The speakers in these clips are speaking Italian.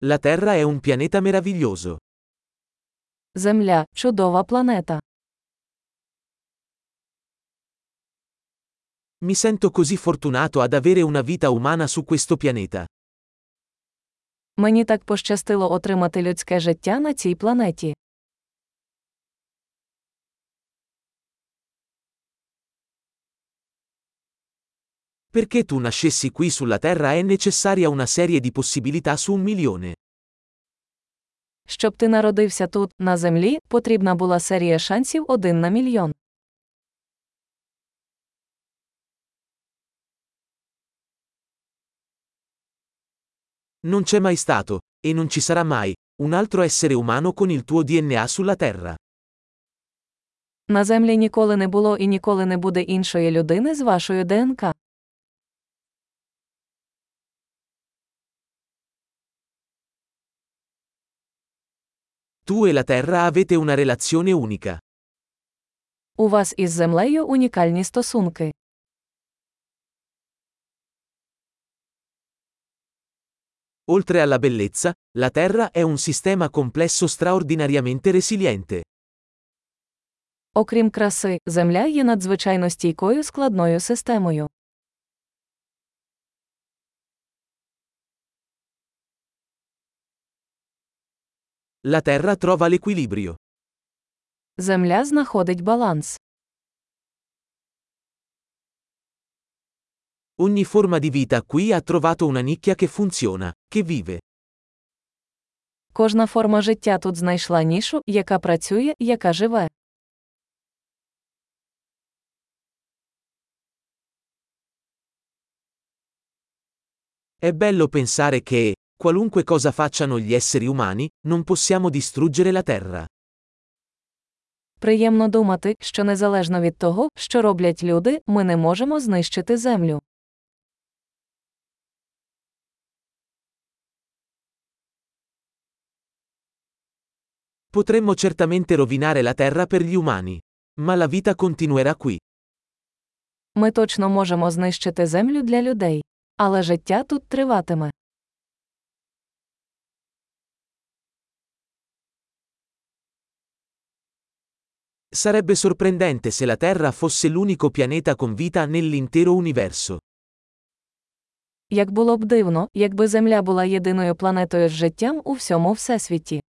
La Terra è un pianeta meraviglioso. Земля – чудова планета. Mi sento così fortunato ad avere una vita umana su questo pianeta. Мені так пощастило отримати людське життя на цій планеті. Perché tu nascessi qui sulla Terra è necessaria una serie di possibilità su 1.000.000. Щоб ти народився тут, на Землі, потрібна була серія шансів 1 на мільйон. Non c'è mai stato, e non ci sarà mai, un altro essere umano con il tuo DNA sulla Terra. На Землі ніколи не було і ніколи не буде іншої людини з вашою ДНК. Tu e la Terra avete una relazione unica. У вас із Землею унікальні стосунки. Oltre alla bellezza, la Terra è un sistema complesso straordinariamente resiliente. Окрім краси, Земля є надзвичайно стійкою складною системою. La Terra trova l'equilibrio. Земля знаходить баланс. Ogni forma di vita qui ha trovato una nicchia che funziona, che vive. Кожна форма життя тут знайшла нішу, яка працює, яка живе. È bello pensare che, qualunque cosa facciano gli esseri umani, non possiamo distruggere la Terra. Приємно думати, що незалежно від того, що роблять люди, ми не можемо знищити Землю. Potremmo certamente rovinare la Terra per gli umani. Ma la vita continuerà qui. Ми точно можемо знищити Землю для людей. Але життя тут триватиме. Sarebbe sorprendente se la Terra fosse l'unico pianeta con vita nell'intero universo. Як було б дивно, якби Земля була єдиною планетою з життям у всьому всесвіті.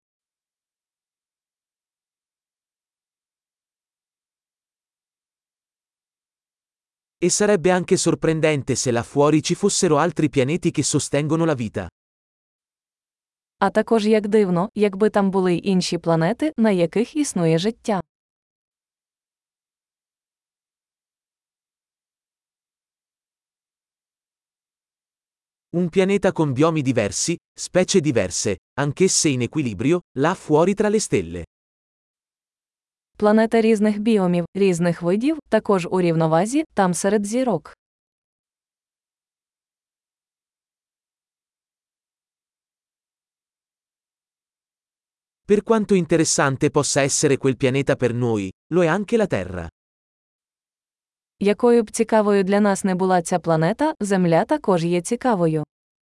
E sarebbe anche sorprendente se là fuori ci fossero altri pianeti che sostengono la vita. А також як дивно, якби там були й інші планети, на яких існує життя. Un pianeta con biomi diversi, specie diverse, anch'esse in equilibrio, là fuori tra le stelle. Планета різних біомів, різних видів, також у рівновазі, там серед зірок. Per quanto interessante possa essere quel pianeta per noi, lo è anche la Terra. Якою б цікавою для нас не була ця планета, Земля також є цікавою.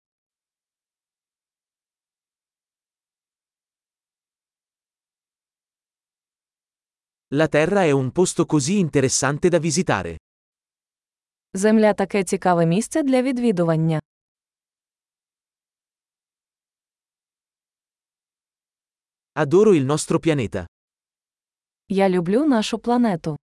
La Terra è un posto così interessante da visitare. Земля таке цікаве місце для відвідування. Adoro il nostro pianeta. Я люблю нашу планету.